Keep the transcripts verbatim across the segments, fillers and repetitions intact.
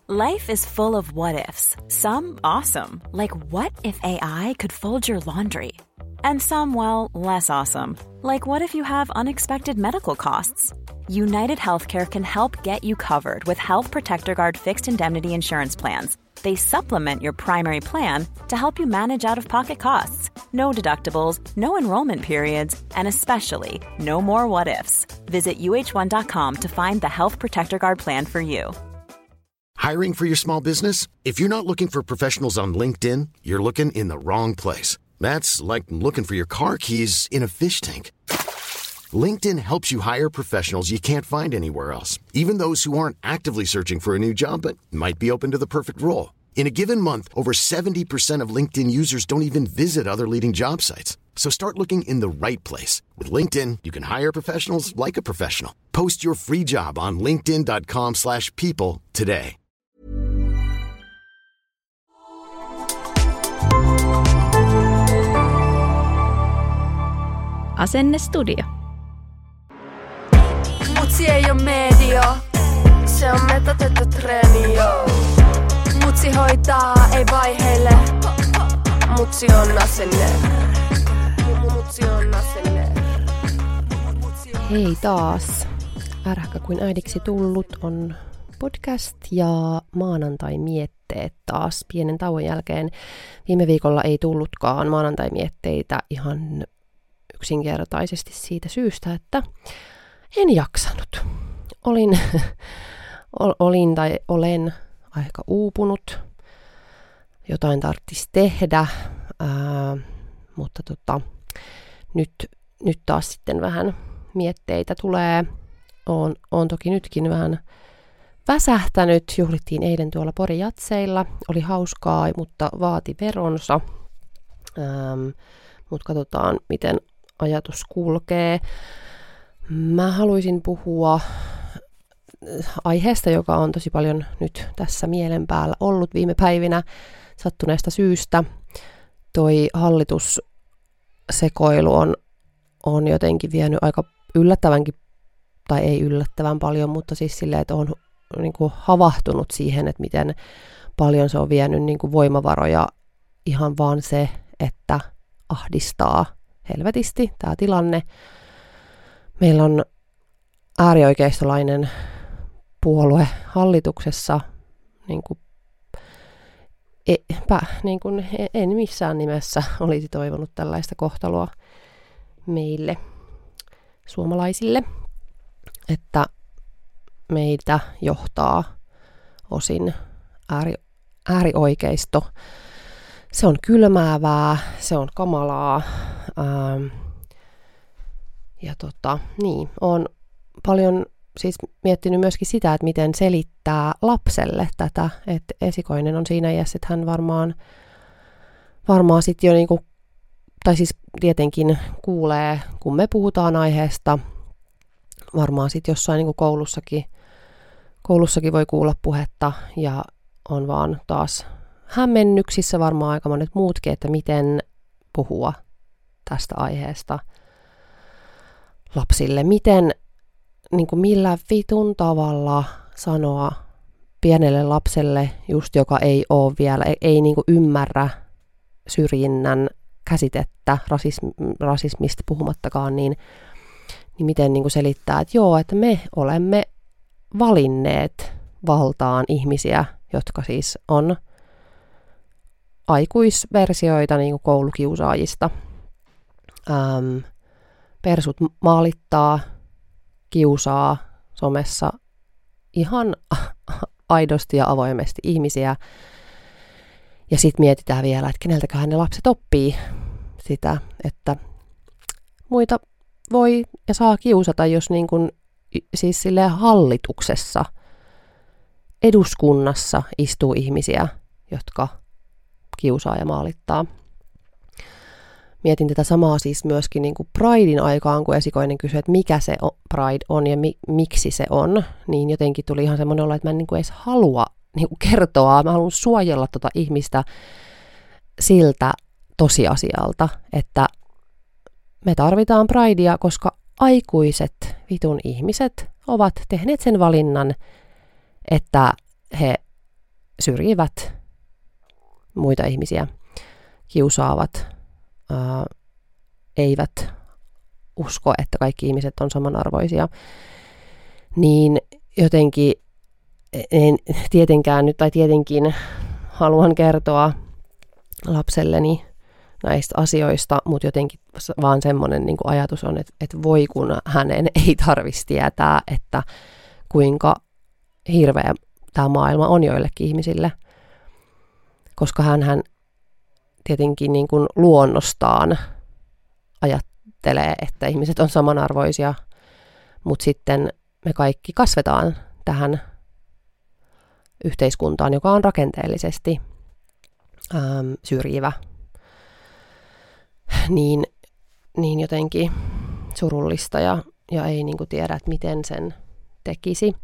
Life is full of what-ifs. Some awesome, like what if A I could fold your laundry? And some, well, less awesome, like what if you have unexpected medical costs? United Healthcare can help get you covered with Health Protector Guard fixed indemnity insurance plans. They supplement your primary plan to help you manage out-of-pocket costs. No deductibles, no enrollment periods, and especially no more what-ifs. Visit U H one dot com to find the Health Protector Guard plan for you. Hiring for your small business? If you're not looking for professionals on LinkedIn, you're looking in the wrong place. That's like looking for your car keys in a fish tank. LinkedIn helps you hire professionals you can't find anywhere else, even those who aren't actively searching for a new job but might be open to the perfect role. In a given month, over seventy percent of LinkedIn users don't even visit other leading job sites. So start looking in the right place. With LinkedIn, you can hire professionals like a professional. Post your free job on linkedin dot com slash people today. Asennestudio. Mutsi ei oo media, se on metotettu treenio. Mutsi hoitaa, ei vaiheile. Mutsi on asenne. Mutsi on asenne. Hei taas. Ärhäkä kuin äidiksi tullut on podcast ja maanantai-mietteet taas pienen tauon jälkeen. Viime viikolla ei tullutkaan maanantai-mietteitä ihan yksinkertaisesti siitä syystä, että en jaksanut. Olin, olin tai olen aika uupunut. Jotain tarvitsisi tehdä, ää, mutta tota, nyt, nyt taas sitten vähän mietteitä tulee. Oon, oon toki nytkin vähän väsähtänyt. Juhlittiin eilen tuolla Pori-jatseilla. Oli hauskaa, mutta vaati veronsa. Ähm, mutta katsotaan, miten ajatus kulkee. Mä haluaisin puhua aiheesta, joka on tosi paljon nyt tässä mielen päällä ollut viime päivinä sattuneesta syystä. Toi hallitussekoilu on, on jotenkin vienyt aika yllättävänkin, tai ei yllättävän paljon, mutta siis silleen, että on niin kuin havahtunut siihen, että miten paljon se on vienyt niin kuin voimavaroja ihan vaan se, että ahdistaa helvetisti tämä tilanne. Meillä on äärioikeistolainen puolue hallituksessa, niin kuin, epä, niin kuin en missään nimessä olisi toivonut tällaista kohtaloa meille suomalaisille, että meitä johtaa osin ääri, äärioikeisto. Se on kylmäävää, se on kamalaa. Ähm, ja tota, niin, olen paljon siis miettinyt myöskin sitä, että miten selittää lapselle tätä, että esikoinen on siinä iässä, että hän varmaan, varmaan sitten jo niinku, tai siis tietenkin kuulee, kun me puhutaan aiheesta, varmaan sitten jossain niinku koulussakin, koulussakin voi kuulla puhetta ja on vaan taas hämmennyksissä varmaan aika monet muutkin, että miten puhua tästä aiheesta lapsille. Miten, niin kuin millä vitun tavalla sanoa pienelle lapselle, just joka ei ole vielä, ei, ei niin kuin ymmärrä syrjinnän käsitettä, rasism, rasismista puhumattakaan, niin, niin miten niin kuin selittää, että joo, että me olemme valinneet valtaan ihmisiä, jotka siis on aikuisversioita niin kuin koulukiusaajista. Ähm, persut maalittaa, kiusaa somessa ihan aidosti ja avoimesti ihmisiä. Ja sitten mietitään vielä, että keneltäköhän ne lapset oppii sitä, että muita voi ja saa kiusata, jos niin kun, siis silleen hallituksessa, eduskunnassa istuu ihmisiä, jotka kiusaa ja maalittaa. Mietin tätä samaa siis myöskin niin kuin Pridein aikaan, kun esikoinen kysyi, että mikä se Pride on ja mi- miksi se on, niin jotenkin tuli ihan semmoinen olo, että mä en niin kuin edes halua niin kuin kertoa, mä haluan suojella tota ihmistä siltä tosiasialta, että me tarvitaan Pridea, koska aikuiset vitun ihmiset ovat tehneet sen valinnan, että he syrjivät muita ihmisiä, kiusaavat, ää, eivät usko, että kaikki ihmiset on samanarvoisia, niin jotenkin en tietenkään nyt, tai tietenkin haluan kertoa lapselleni näistä asioista, mutta jotenkin vaan semmoinen niin kuin ajatus on, että, että voi kun hänen ei tarvitsisi tietää, että kuinka hirveä tämä maailma on joillekin ihmisille, koska hänhän tietenkin niin kuin luonnostaan ajattelee, että ihmiset on samanarvoisia, mutta sitten me kaikki kasvetaan tähän yhteiskuntaan, joka on rakenteellisesti äm, syrjivä, niin, niin jotenkin surullista ja, ja ei niin kuin tiedä, että miten sen tekisi.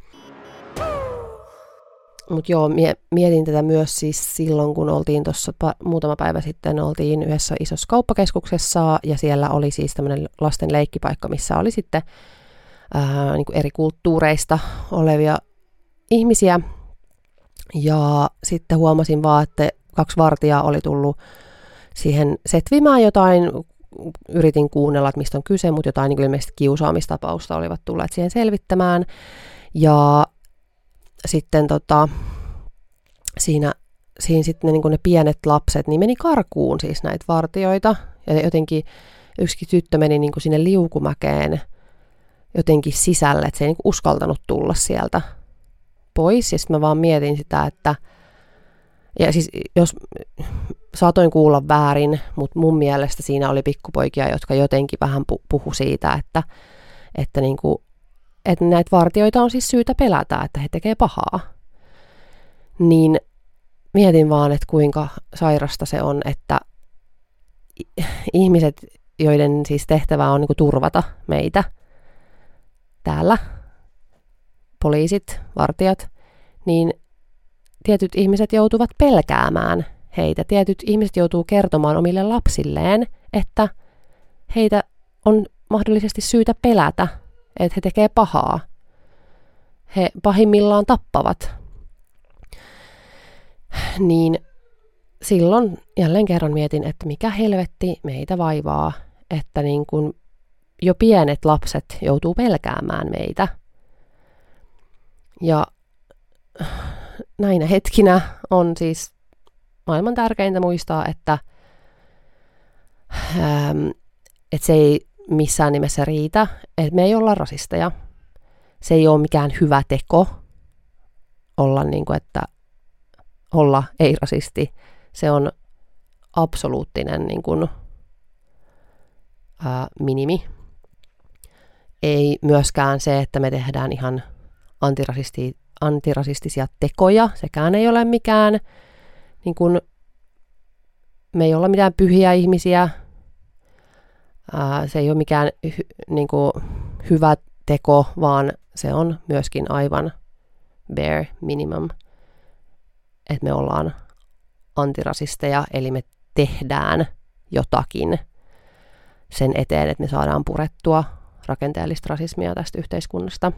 Mutta joo, mietin tätä myös siis silloin, kun oltiin tuossa pa- muutama päivä sitten, oltiin yhdessä isossa kauppakeskuksessa ja siellä oli siis tämmöinen lasten leikkipaikka, missä oli sitten ää, niin kuin eri kulttuureista olevia ihmisiä. Ja sitten huomasin vaan, että kaksi vartijaa oli tullut siihen setvimään jotain, yritin kuunnella, että mistä on kyse, mutta jotain niin ilmeisesti kiusaamistapausta olivat tulleet siihen selvittämään. Ja sitten tota, siinä, siinä sitten ne, niin ne pienet lapset niin meni karkuun siis näitä vartijoita. Ja jotenkin yksikin tyttö meni niin sinne liukumäkeen jotenkin sisälle, että se ei niin uskaltanut tulla sieltä pois. Ja sitten mä vaan mietin sitä, että ja siis jos saatoin kuulla väärin, mutta mun mielestä siinä oli pikkupoikia, jotka jotenkin vähän puhu siitä, että, että, niin kuin, että näitä vartijoita on siis syytä pelätä, että he tekee pahaa. Niin mietin vaan, että kuinka sairasta se on, että ihmiset, joiden siis tehtävä on niin kuin turvata meitä täällä, poliisit, vartijat, niin tietyt ihmiset joutuvat pelkäämään heitä. Tietyt ihmiset joutuu kertomaan omille lapsilleen, että heitä on mahdollisesti syytä pelätä, että he tekee pahaa. He pahimmillaan tappavat. Niin silloin jälleen kerran mietin, että mikä helvetti meitä vaivaa, että niin kuin jo pienet lapset joutuu pelkäämään meitä. Ja näinä hetkinä on siis maailman tärkeintä muistaa, että, ähm, että se ei missään nimessä riitä, että me ei olla rasisteja. Se ei ole mikään hyvä teko olla, niin kuin, että olla ei-rasisti. Se on absoluuttinen niin kuin, ää, minimi. Ei myöskään se, että me tehdään ihan antirasisti, antirasistisia tekoja. Sekään ei ole mikään, niin kuin, me ei olla mitään pyhiä ihmisiä. Ää, se ei ole mikään hy, niin kuin, hyvä teko, vaan se on myöskin aivan bare minimum, että me ollaan antirasisteja, eli me tehdään jotakin sen eteen, että me saadaan purettua rakenteellista rasismia tästä yhteiskunnasta.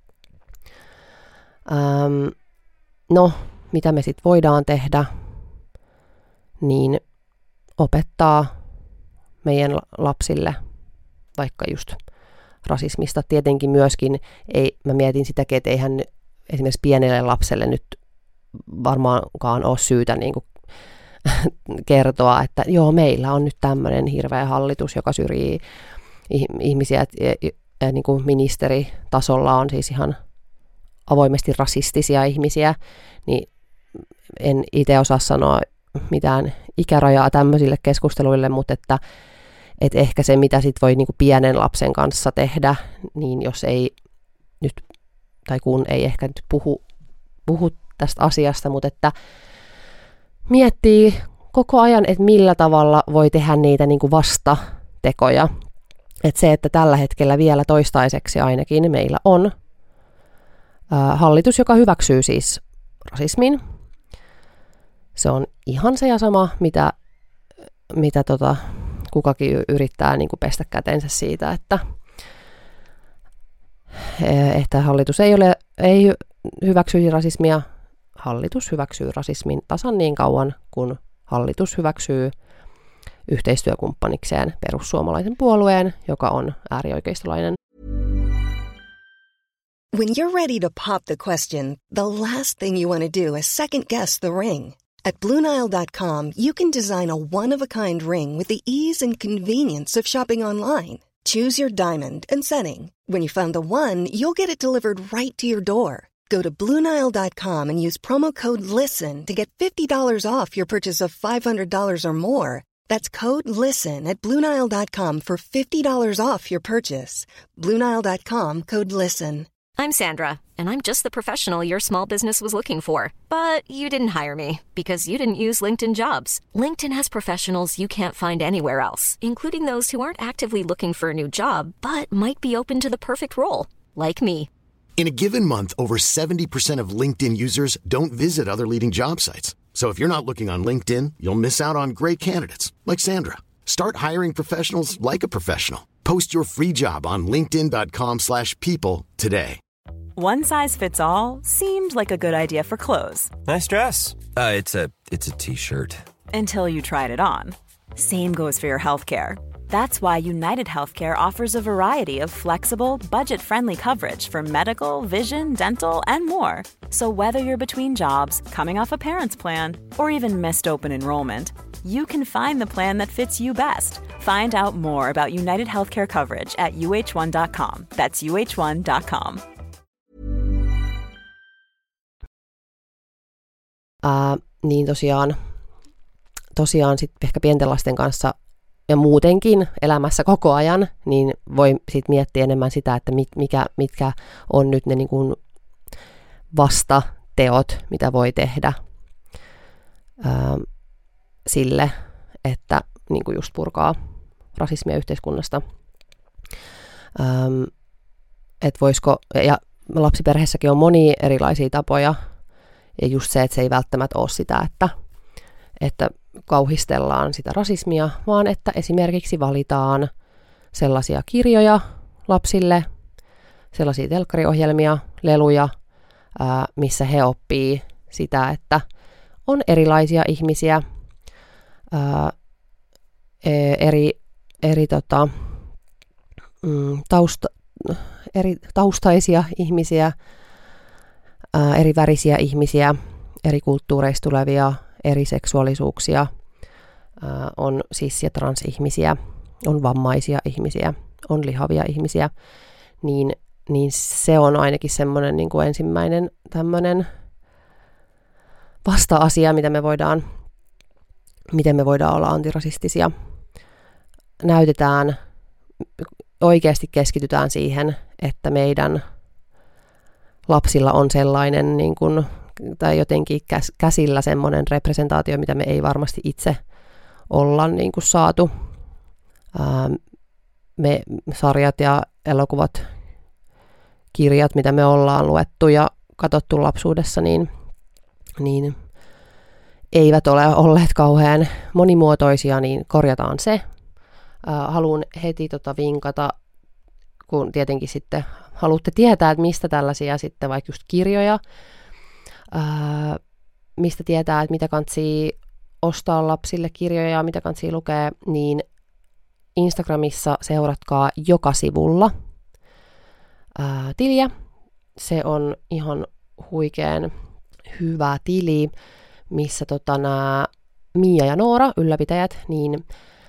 Ähm, no, mitä me sitten voidaan tehdä, niin opettaa meidän lapsille vaikka just rasismista. Tietenkin myöskin, ei, mä mietin sitäkin, että eihän esimerkiksi pienelle lapselle nyt varmaankaan ole syytä niin kuin kertoa, että joo, meillä on nyt tämmöinen hirveä hallitus, joka syrjii ihmisiä, ja, ja niin kuin ministeritasolla on siis ihan avoimesti rasistisia ihmisiä, niin en itse osaa sanoa mitään ikärajaa tämmöisille keskusteluille, mutta että et ehkä se, mitä sit voi niin kuin pienen lapsen kanssa tehdä, niin jos ei nyt, tai kun ei ehkä nyt puhu, puhu tästä asiasta, mutta että miettii koko ajan, että millä tavalla voi tehdä niitä niin kuin vastatekoja. Että se, että tällä hetkellä vielä toistaiseksi ainakin meillä on ää, hallitus, joka hyväksyy siis rasismin. Se on ihan se ja sama, mitä, mitä tota, kukakin yrittää niin kuin pestä kätensä siitä, että, että hallitus ei, ole, ei hyväksyisi rasismia. hallitus hyväksyy rasismin tasan niin kauan, kun hallitus hyväksyy yhteistyökumppanikseen perussuomalaisen puolueen, joka on äärioikeistolainen. When you're ready to pop the question, the last thing you want to do is second guess the ring. At Blue Nile dot com, you can design a one-of-a-kind ring with the ease and convenience of shopping online. Choose your diamond and setting. When you find the one, you'll get it delivered right to your door. Go to Blue Nile dot com and use promo code LISTEN to get fifty dollars off your purchase of five hundred dollars or more. That's code LISTEN at Blue Nile dot com for fifty dollars off your purchase. Blue Nile dot com, code LISTEN. I'm Sandra, and I'm just the professional your small business was looking for. But you didn't hire me because you didn't use LinkedIn Jobs. LinkedIn has professionals you can't find anywhere else, including those who aren't actively looking for a new job, but might be open to the perfect role, like me. In a given month, over seventy percent of LinkedIn users don't visit other leading job sites. So if you're not looking on LinkedIn, you'll miss out on great candidates like Sandra. Start hiring professionals like a professional. Post your free job on linkedin dot com slash people today. One size fits all seemed like a good idea for clothes. Nice dress. Uh, it's a it's a t-shirt. Until you tried it on. Same goes for your healthcare. That's why United Healthcare offers a variety of flexible, budget-friendly coverage for medical, vision, dental, and more. So whether you're between jobs, coming off a parent's plan, or even missed open enrollment, you can find the plan that fits you best. Find out more about United Healthcare coverage at U H one dot com. That's U H one dot com. Uh, niin tosiaan, tosiaan sit ehkä pienten lasten kanssa ja muutenkin elämässä koko ajan, niin voi sit miettiä enemmän sitä, että mit, mikä, mitkä on nyt ne niin kuin vastateot, mitä voi tehdä ää, sille, että niin kuin just purkaa rasismia yhteiskunnasta. Ähm, et voisiko, ja lapsiperheessäkin on monia erilaisia tapoja, ja just se, että se ei välttämättä ole sitä, että, että kauhistellaan sitä rasismia, vaan että esimerkiksi valitaan sellaisia kirjoja lapsille, sellaisia telkkariohjelmia, leluja, ää, missä he oppii sitä, että on erilaisia ihmisiä, ää, eri, eri, tota, mm, tausta, eri taustaisia ihmisiä, ää, eri värisiä ihmisiä, eri kulttuureista tulevia, eri seksuaalisuuksia, ää, on cis- ja transihmisiä, on vammaisia ihmisiä, on lihavia ihmisiä, niin, niin se on ainakin semmoinen niin kuin ensimmäinen tämmöinen vasta-asia, mitä me voidaan, miten me voidaan olla antirasistisia. Näytetään, oikeasti keskitytään siihen, että meidän lapsilla on sellainen niin kuin, tai jotenkin käsillä semmoinen representaatio, mitä me ei varmasti itse olla niin kuin saatu. Ää, me sarjat ja elokuvat, kirjat, mitä me ollaan luettu ja katsottu lapsuudessa, niin, niin eivät ole olleet kauhean monimuotoisia, niin korjataan se. Ää, haluan heti tota vinkata, kun tietenkin sitten haluatte tietää, että mistä tällaisia sitten vaikka just kirjoja, ää, mistä tietää, että mitä kantsii ostaa lapsille kirjoja, mitä kantsii lukea, niin Instagramissa seuratkaa joka sivulla ää, tiliä. Se on ihan huikean hyvä tili, missä tota, nämä Mia ja Noora, ylläpitäjät, niin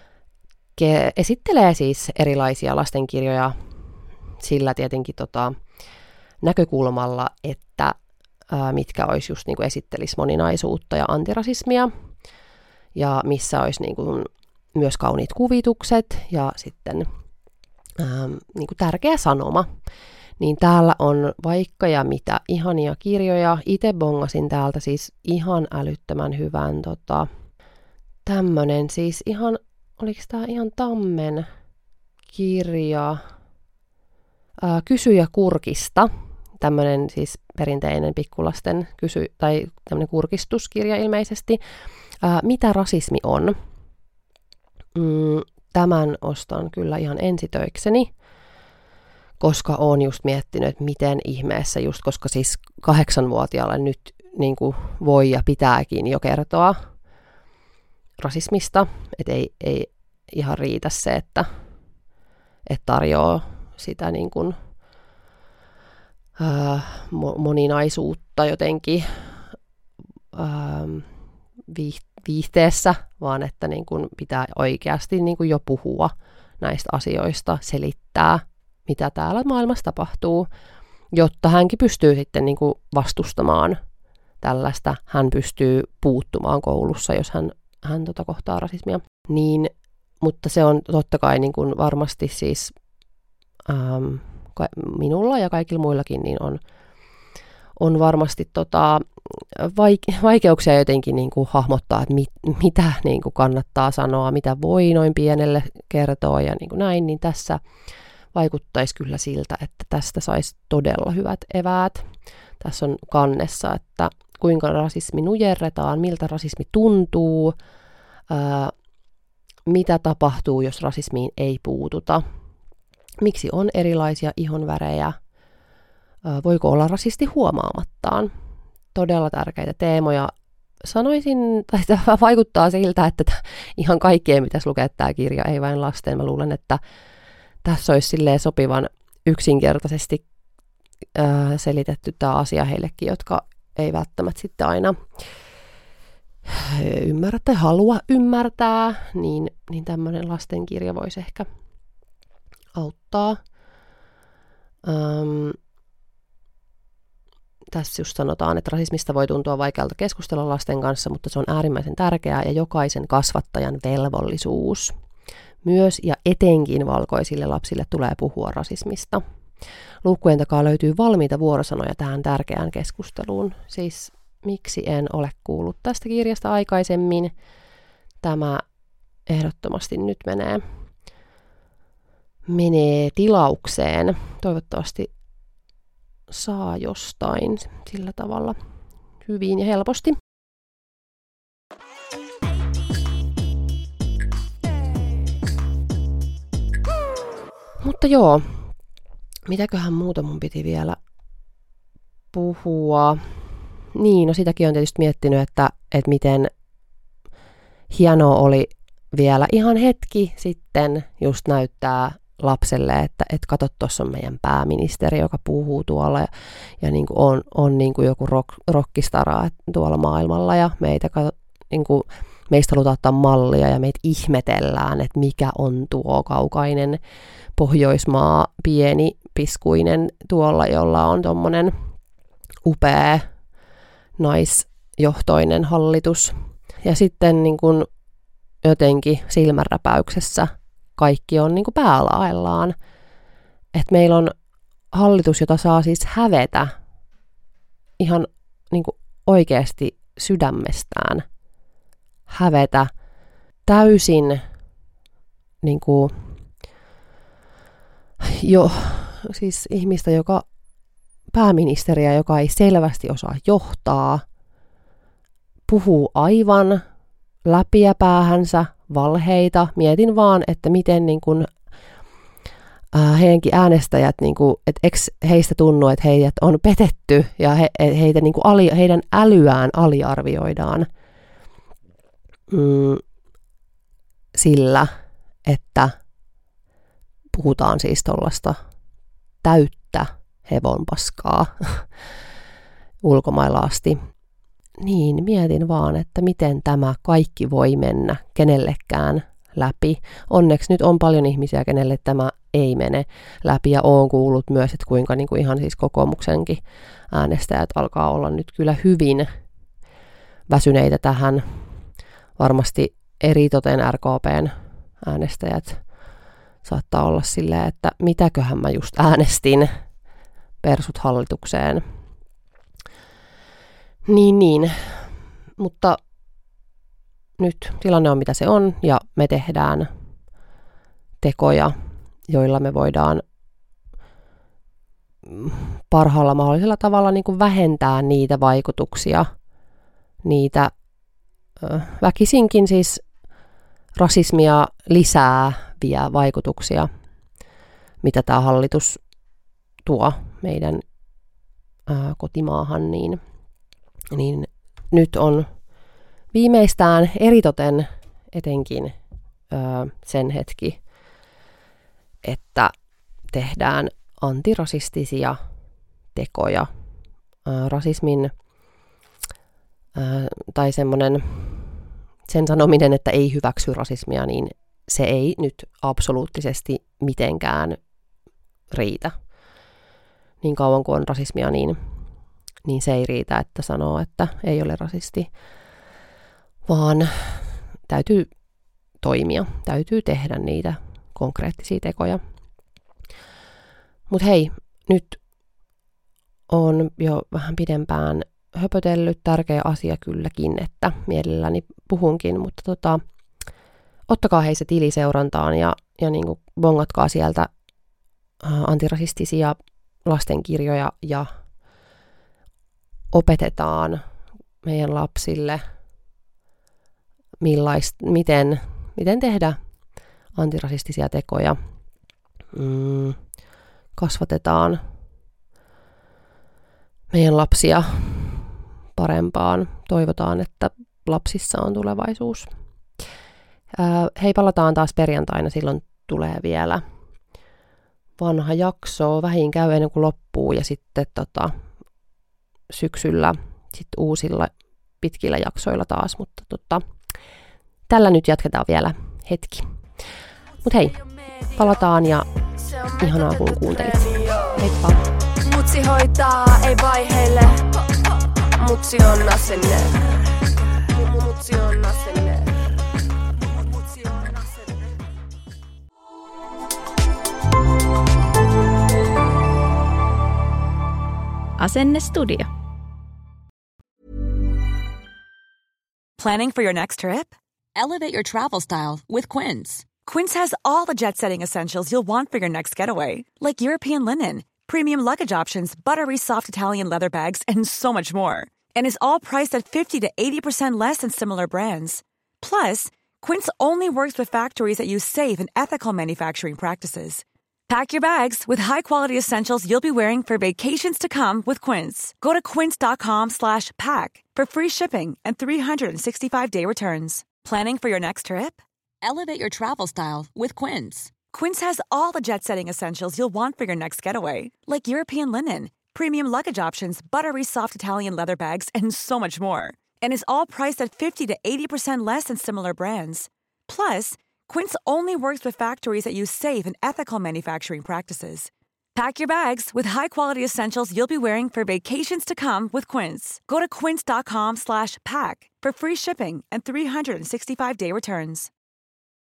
ke- esittelee siis erilaisia lastenkirjoja sillä tietenkin tota, näkökulmalla, että ää, mitkä olisi just niin kuin esittelisi moninaisuutta ja antirasismia, ja missä olisi niin kuin myös kauniit kuvitukset ja sitten ää, niin kuin tärkeä sanoma. Niin täällä on vaikka ja mitä ihania kirjoja. Itse bongasin täältä siis ihan älyttömän hyvän tota, tämmönen siis ihan, oliko tää ihan Tammen kirja, ää, Kysyjä kurkista. Tämmönen siis perinteinen pikkulasten kysy, tai tämmönen kurkistuskirja ilmeisesti. Ää, mitä rasismi on? Mm, tämän ostan kyllä ihan ensitöikseni, koska olen just miettinyt, että miten ihmeessä, just koska siis kahdeksanvuotiaalle nyt niin kuin voi ja pitääkin jo kertoa rasismista, että ei, ei ihan riitä se, että, että tarjoaa sitä niin kuin, ää, moninaisuutta jotenkin ää, viihteessä, vaan että niin kuin pitää oikeasti niin kuin jo puhua näistä asioista, selittää, mitä täällä maailmassa tapahtuu, jotta hänkin pystyy sitten niin kuin vastustamaan tällaista, hän pystyy puuttumaan koulussa, jos hän, hän tota kohtaa rasismia. Niin, mutta se on totta kai niin kuin varmasti siis ähm, minulla ja kaikilla muillakin niin on, on varmasti tota, vaikeuksia jotenkin niin kuin hahmottaa, että mit, mitä niin kuin kannattaa sanoa, mitä voi noin pienelle kertoa ja niin kuin näin, niin tässä vaikuttaisi kyllä siltä, että tästä saisi todella hyvät eväät. Tässä on kannessa, että kuinka rasismi nujerretaan, miltä rasismi tuntuu, ää, mitä tapahtuu, jos rasismiin ei puututa, miksi on erilaisia ihonvärejä, ää, voiko olla rasisti huomaamattaan. Todella tärkeitä teemoja. Sanoisin, tai vaikuttaa siltä, että ihan kaikkea pitäisi lukea tämä kirja, ei vain lasten. Mä luulen, että tässä olisi silleen sopivan yksinkertaisesti ää, selitetty tämä asia heillekin, jotka ei välttämättä sitten aina ymmärrä tai halua ymmärtää, niin, niin tämmöinen lastenkirja voisi ehkä auttaa. Ähm, tässä just sanotaan, että rasismista voi tuntua vaikealta keskustella lasten kanssa, mutta se on äärimmäisen tärkeää ja jokaisen kasvattajan velvollisuus. Myös ja etenkin valkoisille lapsille tulee puhua rasismista. Luukkujen takaa löytyy valmiita vuorosanoja tähän tärkeään keskusteluun. Siis miksi en ole kuullut tästä kirjasta aikaisemmin? Tämä ehdottomasti nyt menee, menee tilaukseen. Toivottavasti saa jostain sillä tavalla hyvin ja helposti. Mutta joo, mitäköhän muuta mun piti vielä puhua? Niin, no sitäkin on tietysti miettinyt, että, että miten hienoa oli vielä ihan hetki sitten just näyttää lapselle, että, että kato, tuossa on meidän pääministeri, joka puhuu tuolla ja, ja niin kuin on, on niin kuin joku rock, rockistara tuolla maailmalla ja meitä, niin kuin, meistä halutaan ottaa mallia ja meitä ihmetellään, että mikä on tuo kaukainen Pohjoismaa, pieni piskuinen tuolla, jolla on tommonen upea naisjohtoinen hallitus. Ja sitten niin kun jotenkin silmänräpäyksessä kaikki on niin kun päälaellaan. Että meillä on hallitus, jota saa siis hävetä ihan niin kun oikeasti sydämestään. Hävetä täysin niin kuin jo siis ihmistä, joka pääministeriä, joka ei selvästi osaa johtaa, puhuu aivan läpiä päähänsä valheita. Mietin vaan, että miten niin kuin, äh, heidänkin äänestäjät, niin kuin, että eikö heistä tunnu, että heidät on petetty ja he, heitä, niin kuin ali, heidän älyään aliarvioidaan mm, sillä, että puhutaan siis tuollaista täyttä hevonpaskaa ulkomailla asti. Niin, mietin vaan, että miten tämä kaikki voi mennä kenellekään läpi. Onneksi nyt on paljon ihmisiä, kenelle tämä ei mene läpi, ja olen kuullut myös, että kuinka niin kuin ihan siis kokoomuksenkin äänestäjät alkaa olla nyt kyllä hyvin väsyneitä tähän. Varmasti eritoten R K P:n äänestäjät saattaa olla silleen, että mitäköhän mä just äänestin persut hallitukseen. Niin, niin. Mutta nyt tilanne on mitä se on, ja me tehdään tekoja, joilla me voidaan parhaalla mahdollisella tavalla niin kuin vähentää niitä vaikutuksia, niitä ö, väkisinkin siis rasismia lisääviä vaikutuksia, mitä tämä hallitus tuo meidän ää, kotimaahan, niin niin nyt on viimeistään eritoten etenkin ö, sen hetki, että tehdään antirasistisia tekoja. Ö, rasismin ö, tai semmoinen sen sanominen, että ei hyväksy rasismia, niin se ei nyt absoluuttisesti mitenkään riitä. Niin kauan kuin on rasismia, niin, niin se ei riitä, että sanoo, että ei ole rasisti, vaan täytyy toimia, täytyy tehdä niitä konkreettisia tekoja. Mutta hei, nyt on jo vähän pidempään höpötellyt, tärkeä asia kylläkin, että mielelläni puhunkin, mutta tota, ottakaa hei se tili seurantaan ja, ja niin kuin bongatkaa sieltä antirasistisia lastenkirjoja ja opetetaan meidän lapsille, millaist, miten, miten tehdä antirasistisia tekoja. Mm, kasvatetaan meidän lapsia parempaan. Toivotaan, että lapsissa on tulevaisuus. Ää, hei, palataan taas perjantaina, silloin tulee vielä vanha jakso, vähin käy ennen kuin loppuu, ja sitten tota, syksyllä sit uusilla pitkillä jaksoilla taas, mutta tota, tällä nyt jatketaan vielä hetki. Mut hei, palataan ja ihanaa kun kuuntelit. Heippa! Mutsi hoitaa, ei vaiheille. Mutsi on asenne. Mutsi on asenne. Mutsi on asenne. Asenne Studio. Planning for your next trip? Elevate your travel style with Quince. Quince has all the jet-setting essentials you'll want for your next getaway, like European linen, premium luggage options, buttery soft Italian leather bags, and so much more. And is all priced at fifty to eighty percent less than similar brands. Plus, Quince only works with factories that use safe and ethical manufacturing practices. Pack your bags with high-quality essentials you'll be wearing for vacations to come with Quince. Go to quince.com slash pack for free shipping and three sixty-five day returns. Planning for your next trip? Elevate your travel style with Quince. Quince has all the jet-setting essentials you'll want for your next getaway, like European linen, premium luggage options, buttery soft Italian leather bags, and so much more. And is all priced at fifty to eighty percent less than similar brands. Plus, Quince only works with factories that use safe and ethical manufacturing practices. Pack your bags with high-quality essentials you'll be wearing for vacations to come with Quince. Go to quince.com slash pack for free shipping and three sixty-five day returns.